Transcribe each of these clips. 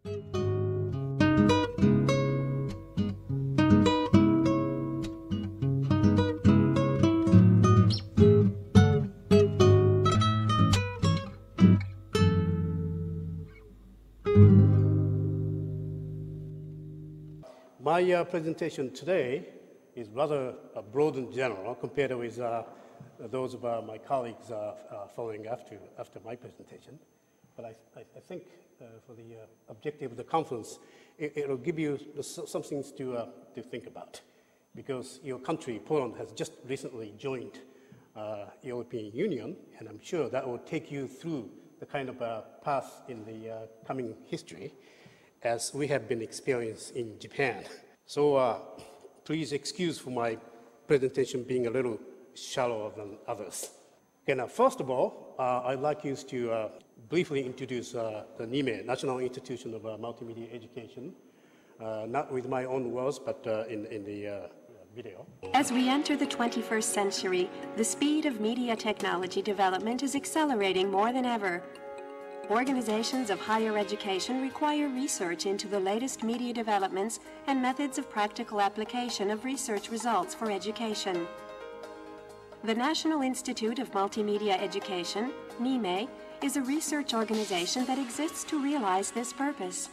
My presentation today is rather broad and general compared with those of my colleagues following after my presentation. But I think for the objective of the conference, it will give you some things to think about. Because your country, Poland, has just recently joined European Union, and I'm sure that will take you through the kind of path in the coming history as we have been experienced in Japan. So please excuse for my presentation being a little shallower than others. Okay, now first of all, I'd like you to briefly introduce the NIME, National Institution of Multimedia Education, not with my own words, but in the video. As we enter the 21st century, the speed of media technology development is accelerating more than ever. Organizations of higher education require research into the latest media developments and methods of practical application of research results for education. The National Institute of Multimedia Education, NIME, is a research organization that exists to realize this purpose.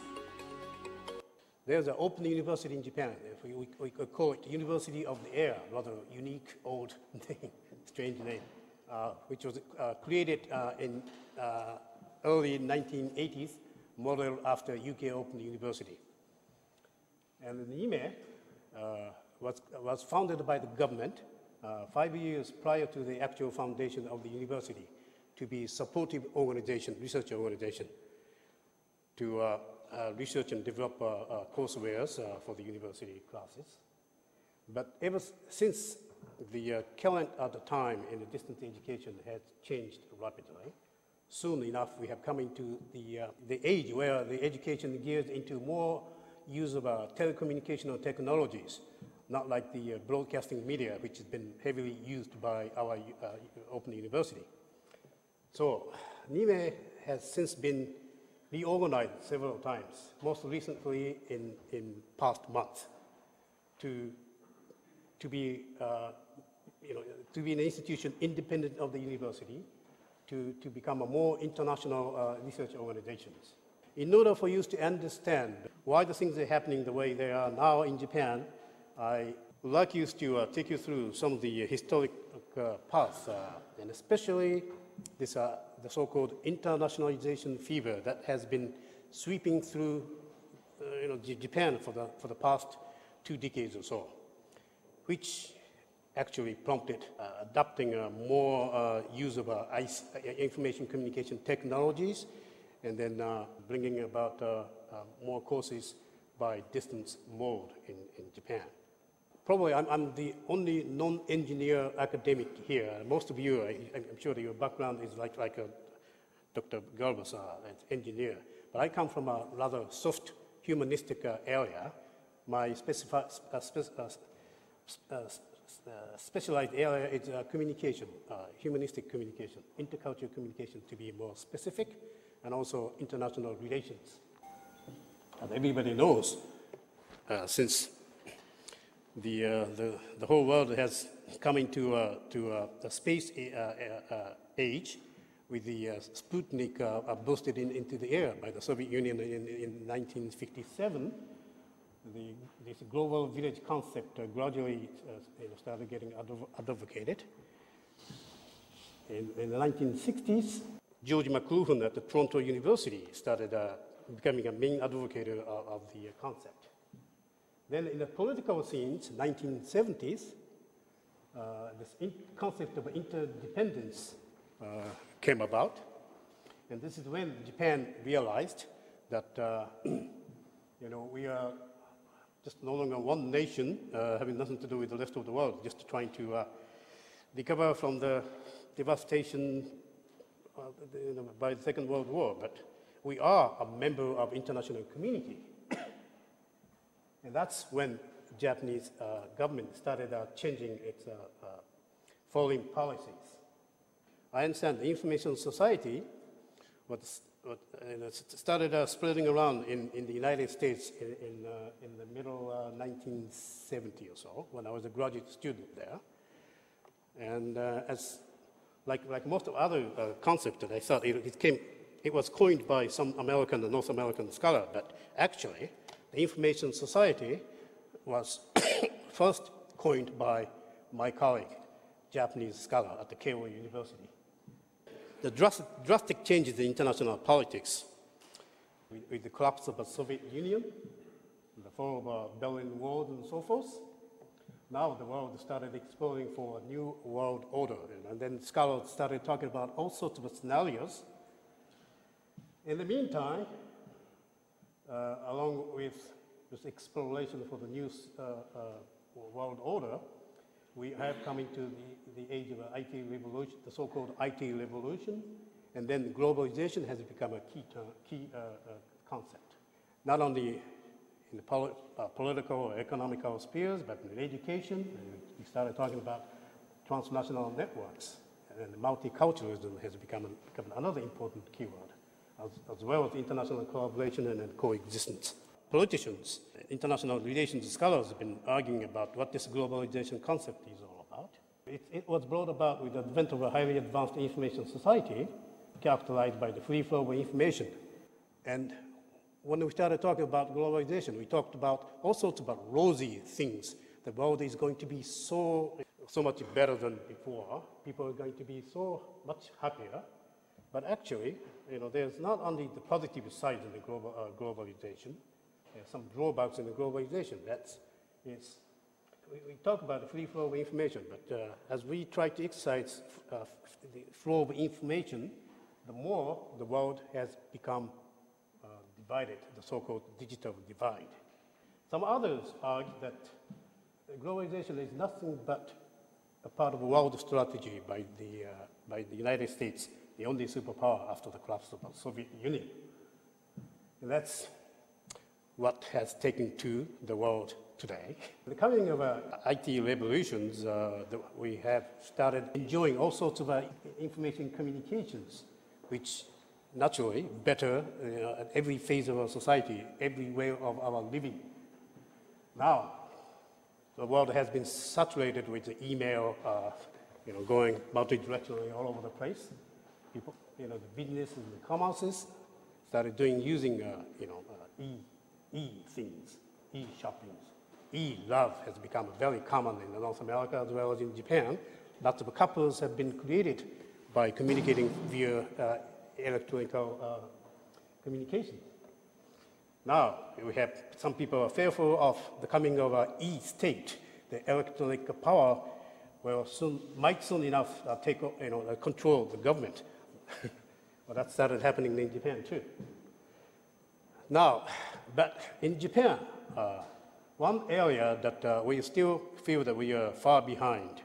There's an open university in Japan. We could call it University of the Air, rather unique old name, strange name, which was created in early 1980s, modeled after UK Open University. And the NIME was founded by the government 5 years prior to the actual foundation of the university to be a supportive organization, research organization, to research and develop coursewares for the university classes. But ever since the current at the time in the distance education has changed rapidly, soon enough we have come into the age where the education gears into more use of telecommunicational technologies, not like the broadcasting media, which has been heavily used by our Open University. So NIME has since been reorganized several times, most recently in past months, to be an institution independent of the university, to become a more international research organizations. In order for you to understand why the things are happening the way they are now in Japan, I would like you to take you through some of the historic paths, and especially this, the so-called internationalization fever that has been sweeping through Japan for the past 2 decades or so, which actually prompted adopting more use of information communication technologies, and then bringing about more courses by distance mode in Japan. Probably I'm the only non-engineer academic here. Most of you, I'm sure that your background is like Dr. Galba's engineer, but I come from a rather soft humanistic area. My specialized area is communication, humanistic communication, intercultural communication to be more specific, and also international relations. As everybody knows, since the whole world has come into the space age, with the Sputnik boosted into the air by the Soviet Union in 1957, this global village concept gradually started getting advocated. In the 1960s, George McLuhan at the Toronto University started becoming a main advocate of the concept. Then in the political scenes, 1970s, this concept of interdependence came about. And this is when Japan realized that we are just no longer one nation, having nothing to do with the rest of the world, just trying to recover from the devastation by the Second World War. But we are a member of international community. And that's when the Japanese government started changing its foreign policies. I understand the information society was it started spreading around in the United States in the middle 1970 or so, when I was a graduate student there. And like most of other concepts that I thought, it was coined by some American and North American scholar, but actually, the information society was first coined by my colleague, Japanese scholar at the Keio University. The drastic changes in international politics with the collapse of the Soviet Union, the fall of the Berlin Wall and so forth, now the world started exploring for a new world order, and then scholars started talking about all sorts of scenarios. In the meantime, along with this exploration for the new world order, we have come into the age of the IT revolution, the so-called IT revolution, and then globalization has become a key concept, not only in the political or economical spheres, but in education. And we started talking about transnational networks, and multiculturalism has become another important keyword, as well as international collaboration and coexistence. Politicians, international relations scholars have been arguing about what this globalization concept is all about. It was brought about with the advent of a highly advanced information society characterized by the free flow of information. And when we started talking about globalization, we talked about all sorts of rosy things. The world is going to be so much better than before. People are going to be so much happier. But actually, there's not only the positive side of the globalization. There's some drawbacks in the globalization. We talk about the free flow of information, but as we try to exercise the flow of information, the more the world has become divided, the so-called digital divide. Some others argue that globalization is nothing but a part of a world strategy by the United States, the only superpower after the collapse of the Soviet Union. And that's what has taken to the world today. The coming of IT revolutions, we have started enjoying all sorts of information communications, which naturally better at every phase of our society, every way of our living. Now, the world has been saturated with the email, going multi-directionally all over the place. People, the business and the commerces started using e-things, e-shoppings. E-love has become very common in North America as well as in Japan. Lots of couples have been created by communicating via electronic communication. Now, we have some people are fearful of the coming of an e-state, the electronic power might soon enough control the government. Well, that started happening in Japan too. Now, but in Japan, one area that we still feel that we are far behind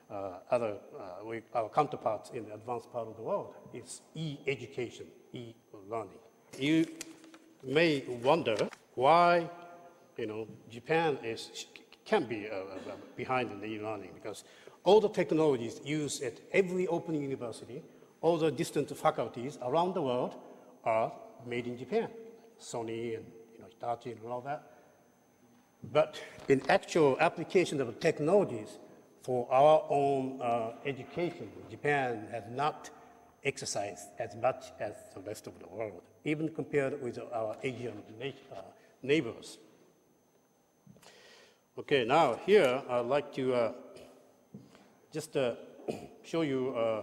our counterparts in the advanced part of the world is e-education, e-learning. You may wonder why, Japan can be behind in the e-learning, because all the technologies used at every open university, all the distant faculties around the world are made in Japan. Sony and Hitachi and all that. But in actual application of technologies for our own education, Japan has not exercised as much as the rest of the world, even compared with our Asian neighbors. Okay, now here I'd like to just show you a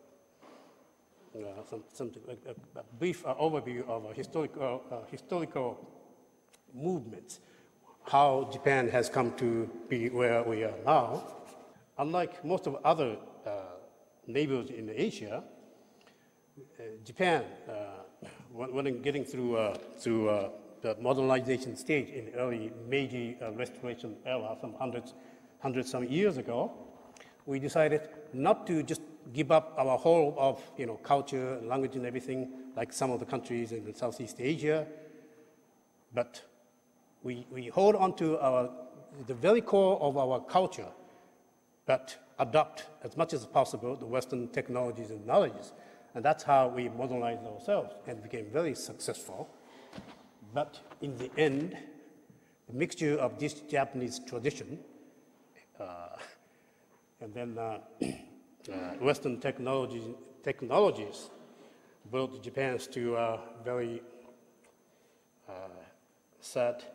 brief overview of historical movements, how Japan has come to be where we are now. Unlike most of other neighbors in Asia, Japan, when getting through the modernization stage in the early Meiji Restoration era, some hundreds some years ago, we decided not to just give up our whole of culture, language, and everything like some of the countries in Southeast Asia, but we hold on to the very core of our culture, but adopt as much as possible the Western technologies and knowledges And that's how we modernized ourselves and became very successful. But in the end, the mixture of this Japanese tradition and then Western technologies brought Japan to a very sad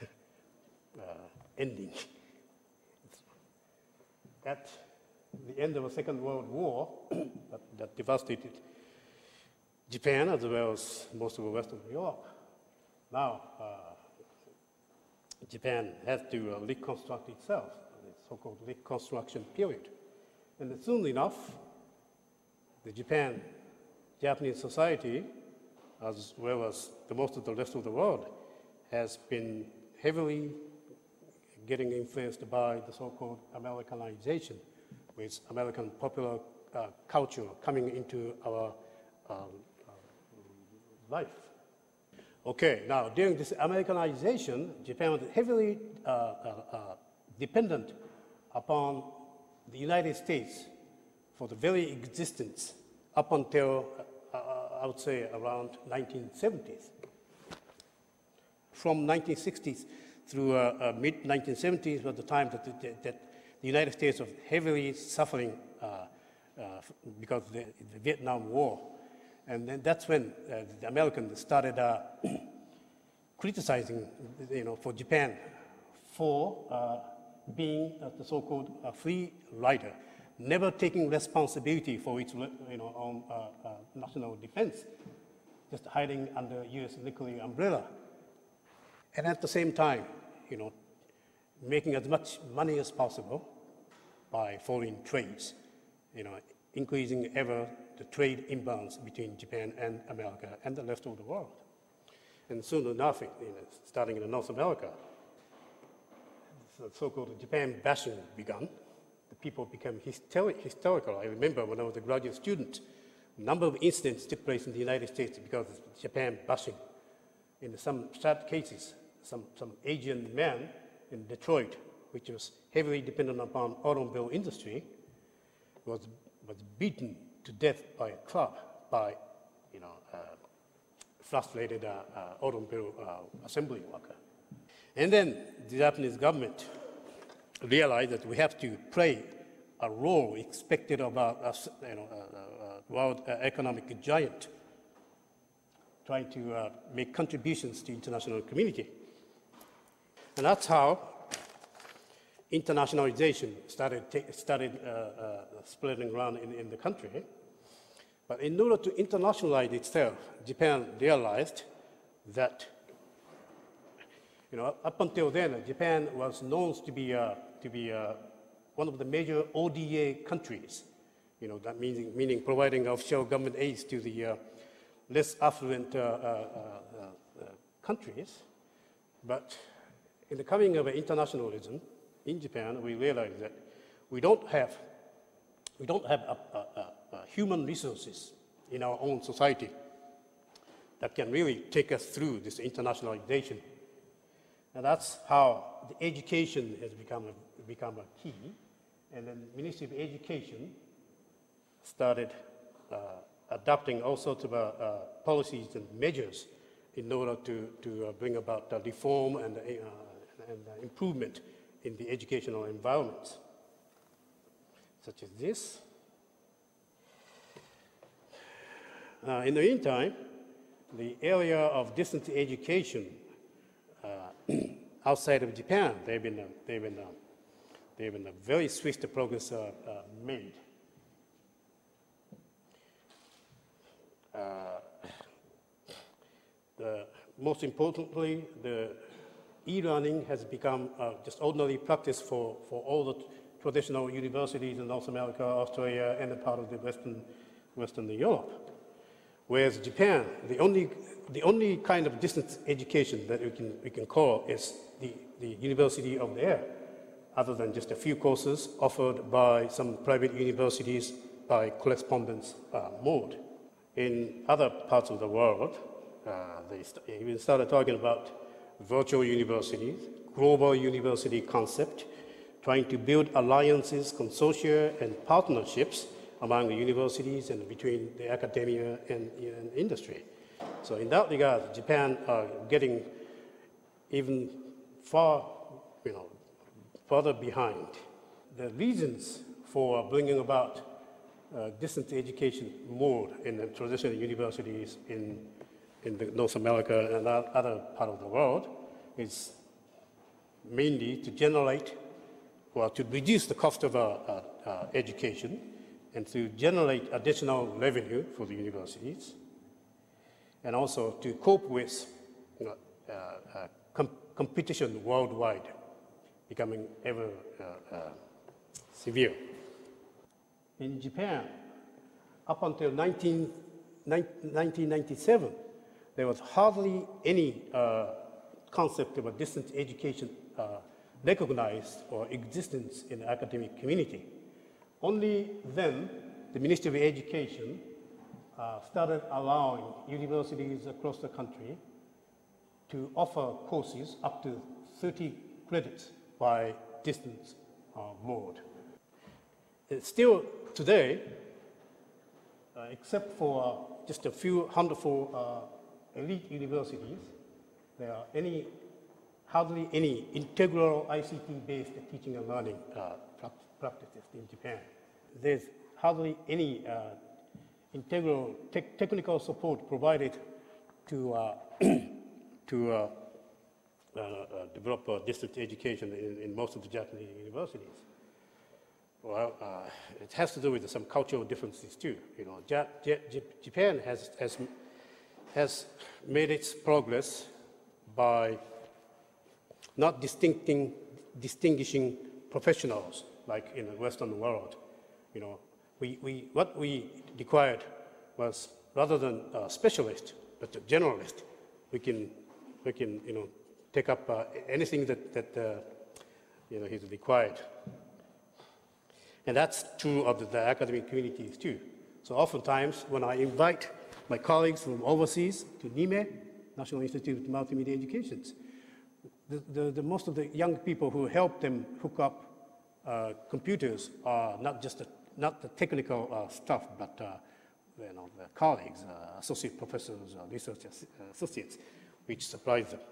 ending. At the end of the Second World War, that devastated Japan as well as most of Western Europe. Now, Japan has to reconstruct itself, the so-called reconstruction period. And soon enough, the Japanese society, as well as most of the rest of the world, has been heavily getting influenced by the so-called Americanization, with American popular culture coming into our life. Okay, now during this Americanization, Japan was heavily dependent upon the United States for the very existence up until, I would say, around 1970s. From 1960s through mid-1970s was the time that the United States was heavily suffering because of the Vietnam War. And then that's when the Americans started criticizing, for Japan for being the so-called free rider, never taking responsibility for its own national defense, just hiding under U.S. nuclear umbrella. And at the same time, making as much money as possible by foreign trades, increasing ever the trade imbalance between Japan and America and the rest of the world. And soon enough, starting in North America, the so-called Japan bashing began. The people became hysterical. I remember when I was a graduate student, a number of incidents took place in the United States because of Japan bashing. In some sad cases, some Asian man in Detroit, which was heavily dependent upon automobile industry, was beaten to death by a club by frustrated automobile assembly worker. And then the Japanese government realized that we have to play a role expected of a world economic giant, trying to make contributions to international community. And that's how internationalization started spreading around in the country. But in order to internationalize itself, Japan realized that, up until then, Japan was known to be one of the major ODA countries. That meaning providing official government aids to the less affluent countries. But in the coming of internationalism in Japan, we realized that we don't have human resources in our own society that can really take us through this internationalization. And that's how the education has become a key. And then the Ministry of Education started adopting all sorts of policies and measures in order to bring about reform and improvement in the educational environments, such as this. In the meantime, the area of distance education outside of Japan, they've been a very swift progress made. Most importantly, the e-learning has become just ordinary practice for all the traditional universities in North America, Australia, and a part of the Western Europe. Whereas Japan, the only kind of distance education that we can call is the University of the Air, other than just a few courses offered by some private universities by correspondence mode. In other parts of the world, they even started talking about virtual universities, global university concept, trying to build alliances, consortia, and partnerships among the universities and between the academia and industry. So in that regard, Japan are getting even further behind. The reasons for bringing about distance education mode in the traditional universities in North America and other part of the world is mainly to generate or to reduce the cost of education and to generate additional revenue for the universities, and also to cope with competition worldwide becoming ever severe. In Japan, up until 1997, there was hardly any concept of a distance education recognized or existence in the academic community. Only then, the Ministry of Education started allowing universities across the country to offer courses up to 30 credits by distance mode. Still today, except for just a few handful elite universities, there are hardly any integral ICT-based teaching and learning practices in Japan. There's hardly any integral technical support provided to develop distance education in most of the Japanese universities. Well, it has to do with some cultural differences too. Japan has made its progress by not distinguishing professionals like in the Western world. What we required was rather than a specialist, but a generalist. We can take up anything that is required. And that's true of the academic communities too. So oftentimes when I invite my colleagues from overseas to NIME, National Institute of Multimedia Education, most of the young people who help them hook up computers are not the technical staff, but the colleagues, associate professors, research associates, which surprise them.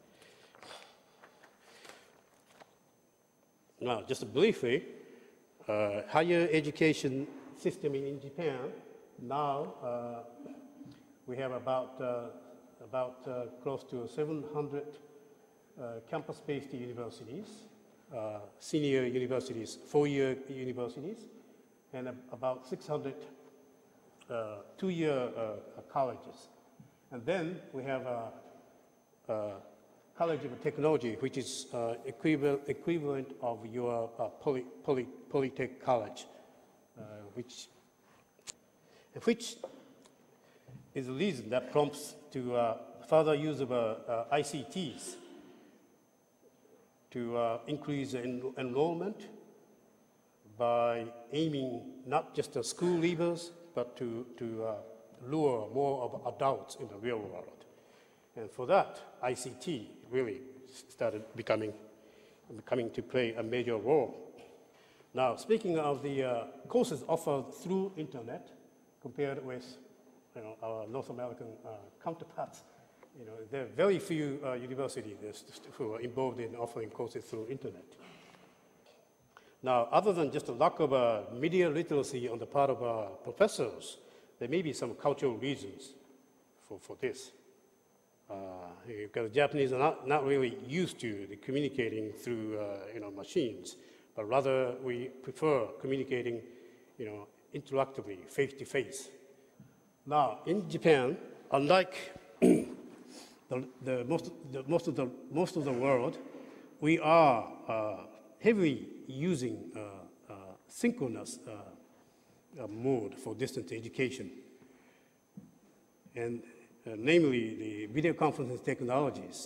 Now, just briefly, higher education system in Japan, now we have about close to 700 campus-based universities, senior universities, four-year universities, and about 600 two-year colleges. And then we have a College of Technology, which is equivalent of your Polytech College, which is the reason that prompts to further use of ICTs to increase enrollment by aiming not just at school leavers, but to lure more of adults in the real world. And for that, ICT really started coming to play a major role. Now, speaking of the courses offered through internet, compared with our North American counterparts, there are very few universities who are involved in offering courses through internet. Now, other than just a lack of media literacy on the part of professors, there may be some cultural reasons for this. Because Japanese are not really used to communicating through machines, but rather we prefer communicating interactively, face to face. Now in Japan, unlike most of the world, we are heavily using synchronous mode for distance education, and namely the video conferencing technologies.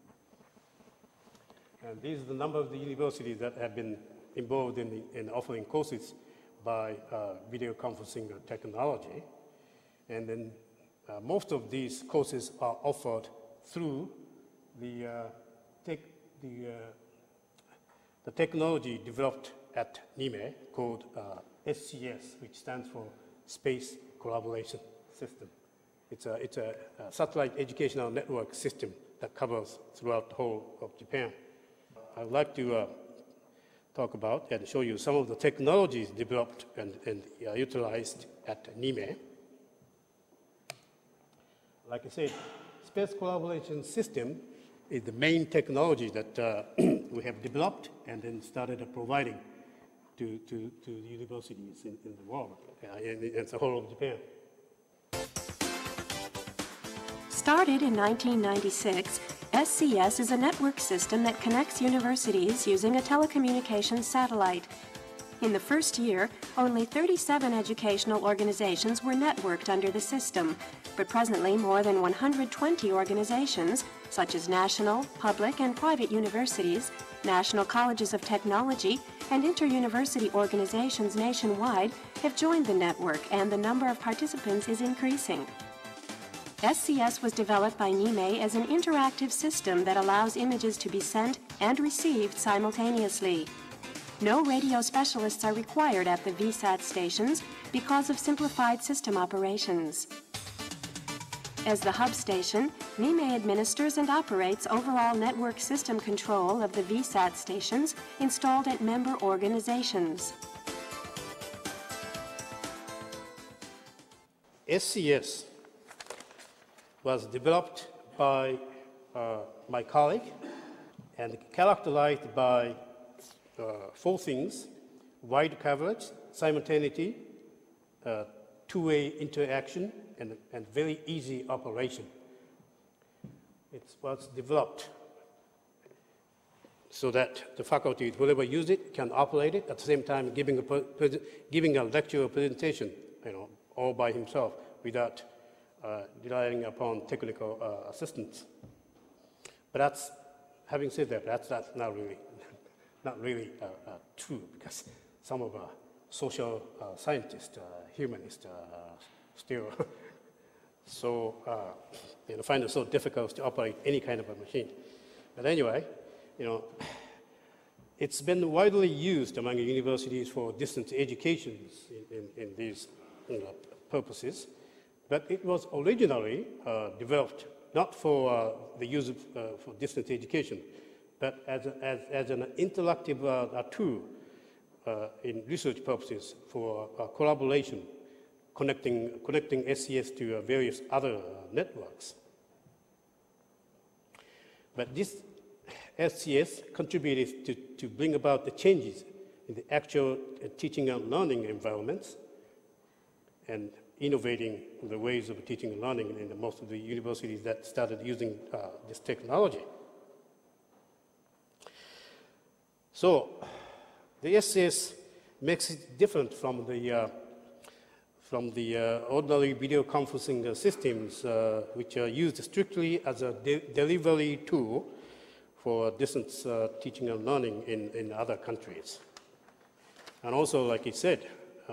And these are the number of the universities that have been involved in offering courses by video conferencing technology. And then most of these courses are offered through the technology developed at NIME called SCS, which stands for Space Collaboration System. It's a satellite educational network system that covers throughout the whole of Japan. I would like to talk about and show you some of the technologies developed and utilized at NIME. Like I said, space collaboration system is the main technology that we have developed and then started providing to universities in the world, in the whole of Japan. Started in 1996, SCS is a network system that connects universities using a telecommunications satellite. In the first year, only 37 educational organizations were networked under the system, but presently more than 120 organizations, such as national, public, and private universities, national colleges of technology, and inter-university organizations nationwide have joined the network, and the number of participants is increasing. SCS was developed by NIME as an interactive system that allows images to be sent and received simultaneously. No radio specialists are required at the VSAT stations because of simplified system operations. As the hub station, NIME administers and operates overall network system control of the VSAT stations installed at member organizations. SCS was developed by my colleague and characterized by four things: wide coverage, simultaneity, two-way interaction, and very easy operation. It was developed so that the faculty, whoever use it, can operate it at the same time giving a lecture or presentation, all by himself without relying upon technical assistance. But that's, having said that, that's not really true, because some of our social scientists, humanists, still find it so difficult to operate any kind of a machine. But anyway, it's been widely used among universities for distance education in these purposes. But it was originally developed not for the use of for distance education, but as an interactive tool in research purposes for collaboration, connecting SCS to various other networks. But this SCS contributed to bring about the changes in the actual teaching and learning environments and innovating the ways of teaching and learning in most of the universities that started using this technology. So the SCS makes it different from the ordinary video conferencing systems, which are used strictly as a delivery tool for distance teaching and learning in other countries. And also, like he said,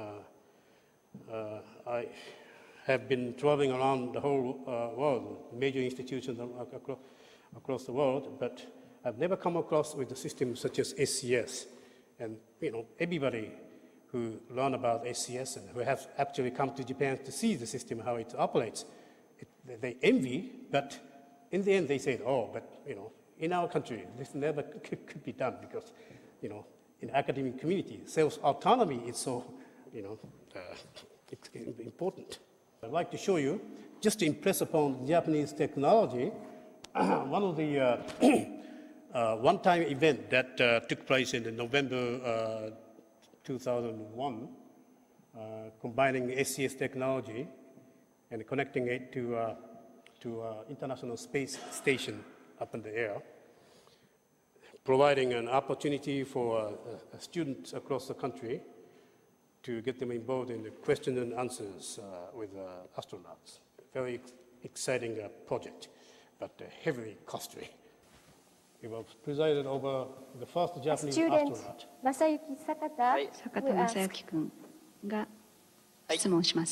I have been traveling around the whole world, major institutions across the world, but I've never come across with a system such as SCS. And everybody who learn about SCS and who have actually come to Japan to see the system, how it operates, they envy, but in the end they say, oh, but in our country, this never could be done because, in academic community, self-autonomy is so, it's important. I'd like to show you, just to impress upon Japanese technology, one of the one-time event that took place in November 2001, combining SCS technology and connecting it to International Space Station up in the air, providing an opportunity for students across the country to get them involved in the question and answers with astronauts. Very exciting project, but heavily costly. It was presided over the first Japanese astronaut. 正幸坂田、 坂田正幸君が質問します。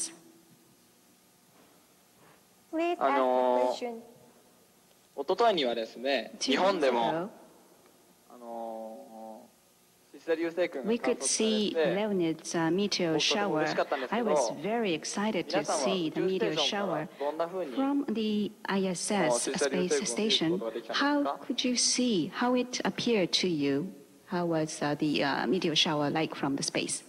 Please ask the question. 一昨日にはですね、日本でもシ we could see Leonid's meteor shower. I was very excited to see the meteor shower. From the ISS space station, how could you see how it appeared to you? How was the meteor shower like from the space?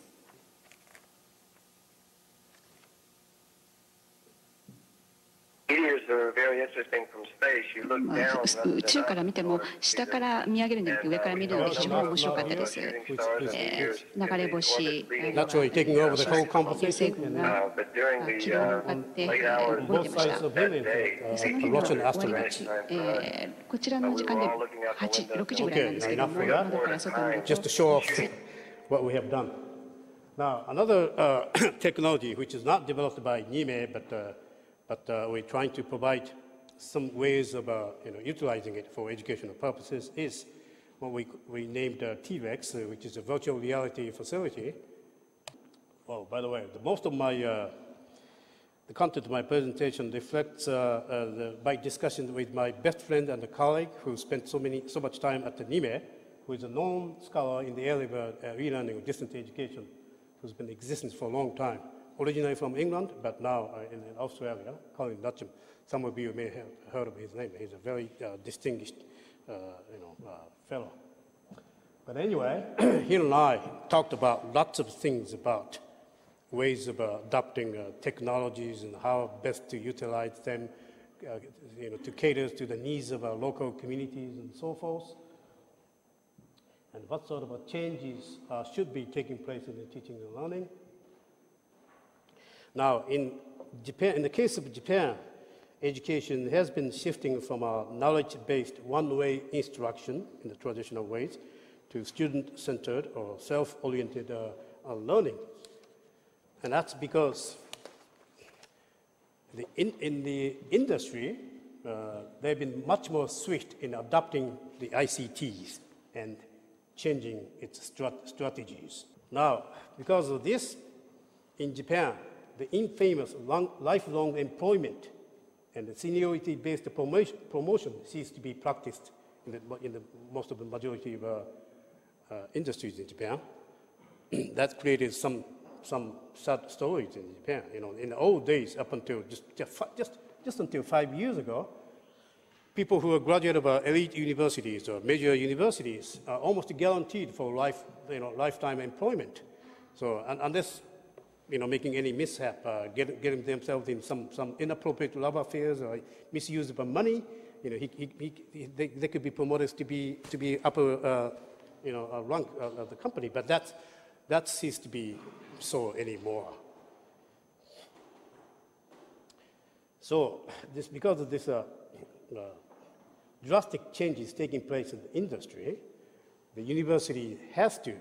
Meteors are very interesting from space. You look down, 宇宙から見ても下から見上げるんじゃなくて上から見るのが非常に面白かったです。流れ星、 naturally taking over the whole 流 conversation. 星群が but during the 軌道に向かって動いて Both まし sides た。 of him, in fact, その a 日の Russian 終わり asteroid. 口、こちらの時間で6時ぐらいなんですけども、 Okay, 窓から外に Just to show off what we have done. Now, another technology which is not developed by NIME, but we're trying to provide some ways of utilizing it for educational purposes is what we named T-Rex, which is a virtual reality facility. Oh, by the way, most of my the content of my presentation reflects my discussion with my best friend and a colleague who spent so much time at the NIME, who is a known scholar in the area of e-learning or distance education, who's been in existence for a long time. Originally from England, but now in Australia, Colin Dutcham. Some of you may have heard of his name. He's a very distinguished fellow. But anyway, he and I talked about lots of things about ways of adopting technologies and how best to utilize them to cater to the needs of our local communities and so forth. And what sort of changes should be taking place in the teaching and learning. Now, in Japan, in the case of Japan, education has been shifting from a knowledge-based one-way instruction in the traditional ways to student-centered or self-oriented learning. And that's because in the industry, they've been much more swift in adopting the ICTs and changing its strategies. Now, because of this, in Japan, the infamous lifelong employment and the seniority-based promotion cease to be practiced in the most of the majority of industries in Japan. That created some sad stories in Japan. In the old days, up until just until 5 years ago, people who are graduate of elite universities or major universities are almost guaranteed for lifetime employment. So unless making any mishap, getting themselves in some inappropriate love affairs or misuse of money, they could be promoted to be upper, rank of the company. But that ceases to be so anymore. So because of this drastic changes taking place in the industry, the university has to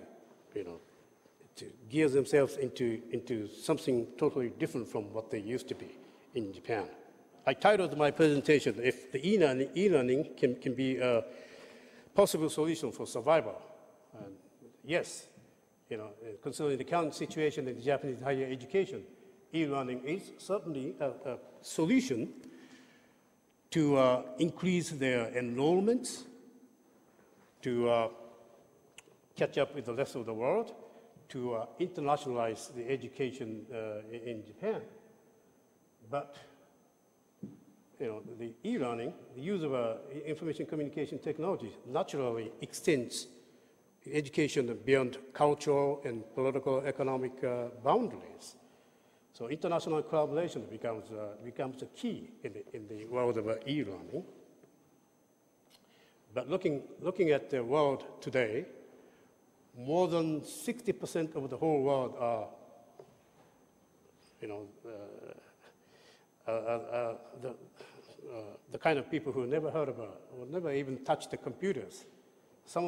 gear themselves into something totally different from what they used to be in Japan. I titled my presentation, "If the e-learning can be a possible solution for survival." And yes, considering the current situation in the Japanese higher education, e-learning is certainly a solution to increase their enrollments, to catch up with the rest of the world, to internationalize the education in Japan. But the e-learning, the use of information communication technologies naturally extends education beyond cultural and political economic boundaries. So international collaboration becomes a key in the world of e-learning. But looking at the world today, more than 60% of the whole world are, the kind of people who never heard of or never even touched the computers. So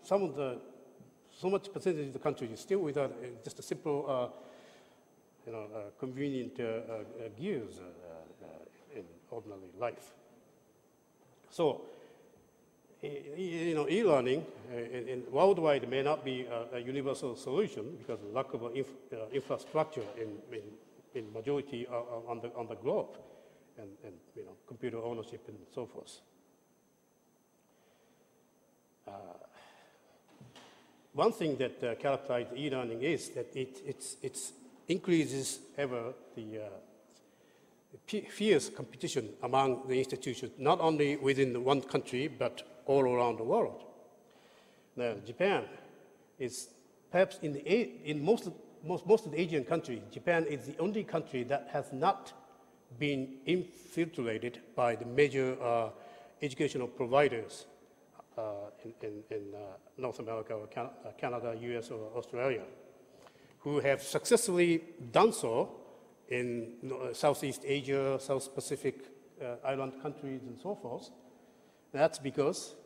much percentage of the country is still without just a simple, convenient gears in ordinary life. So, e-learning worldwide may not be a universal solution because of lack of infrastructure in majority on the globe, and computer ownership and so forth. one thing that characterizes e-learning is that it increases ever the fierce competition among the institutions, not only within one country, but all around the world. Now, Japan is perhaps in most of the Asian countries, Japan is the only country that has not been infiltrated by the major educational providers in North America or Canada, US, or Australia, who have successfully done so in Southeast Asia, South Pacific island countries, and so forth. That's because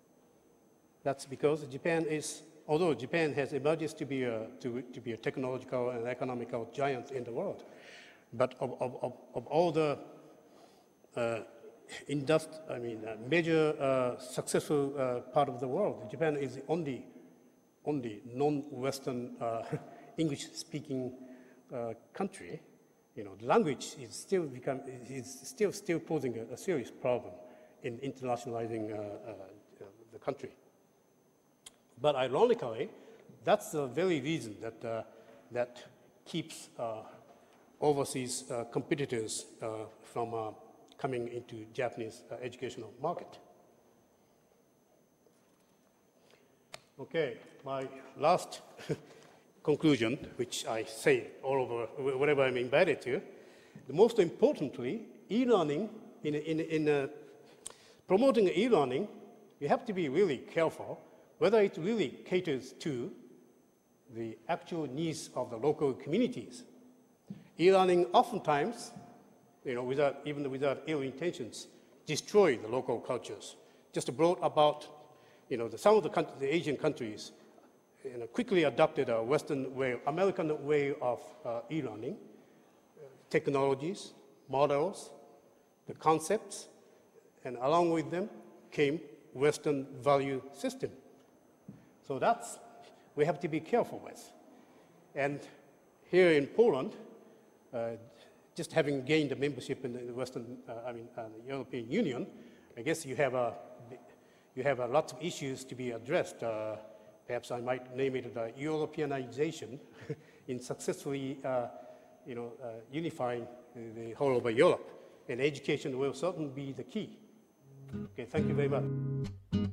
Japan is, although Japan has emerged to be a technological and economical giant in the world, but of all the major successful part of the world, Japan is the only non-Western English-speaking country. You know, the language is still posing a serious problem in internationalizing the country. But ironically, that's the very reason that keeps overseas competitors from coming into Japanese educational market. Okay, my last conclusion, which I say all over wherever I'm invited to, the most importantly, e-learning, in promoting e-learning, you have to be really careful whether it really caters to the actual needs of the local communities. E-learning oftentimes, you know, even without ill intentions, destroy the local cultures. Just brought about, you know, some of the Asian countries, you know, quickly adopted a Western way, American way of e-learning, technologies, models, the concepts, and along with them came Western value system. So that's, we have to be careful with. And here in Poland, just having gained a membership in the Western, the European Union, I guess you have a lot of issues to be addressed. Perhaps I might name it Europeanization in successfully, unifying the whole of Europe. And education will certainly be the key. Okay, thank you very much.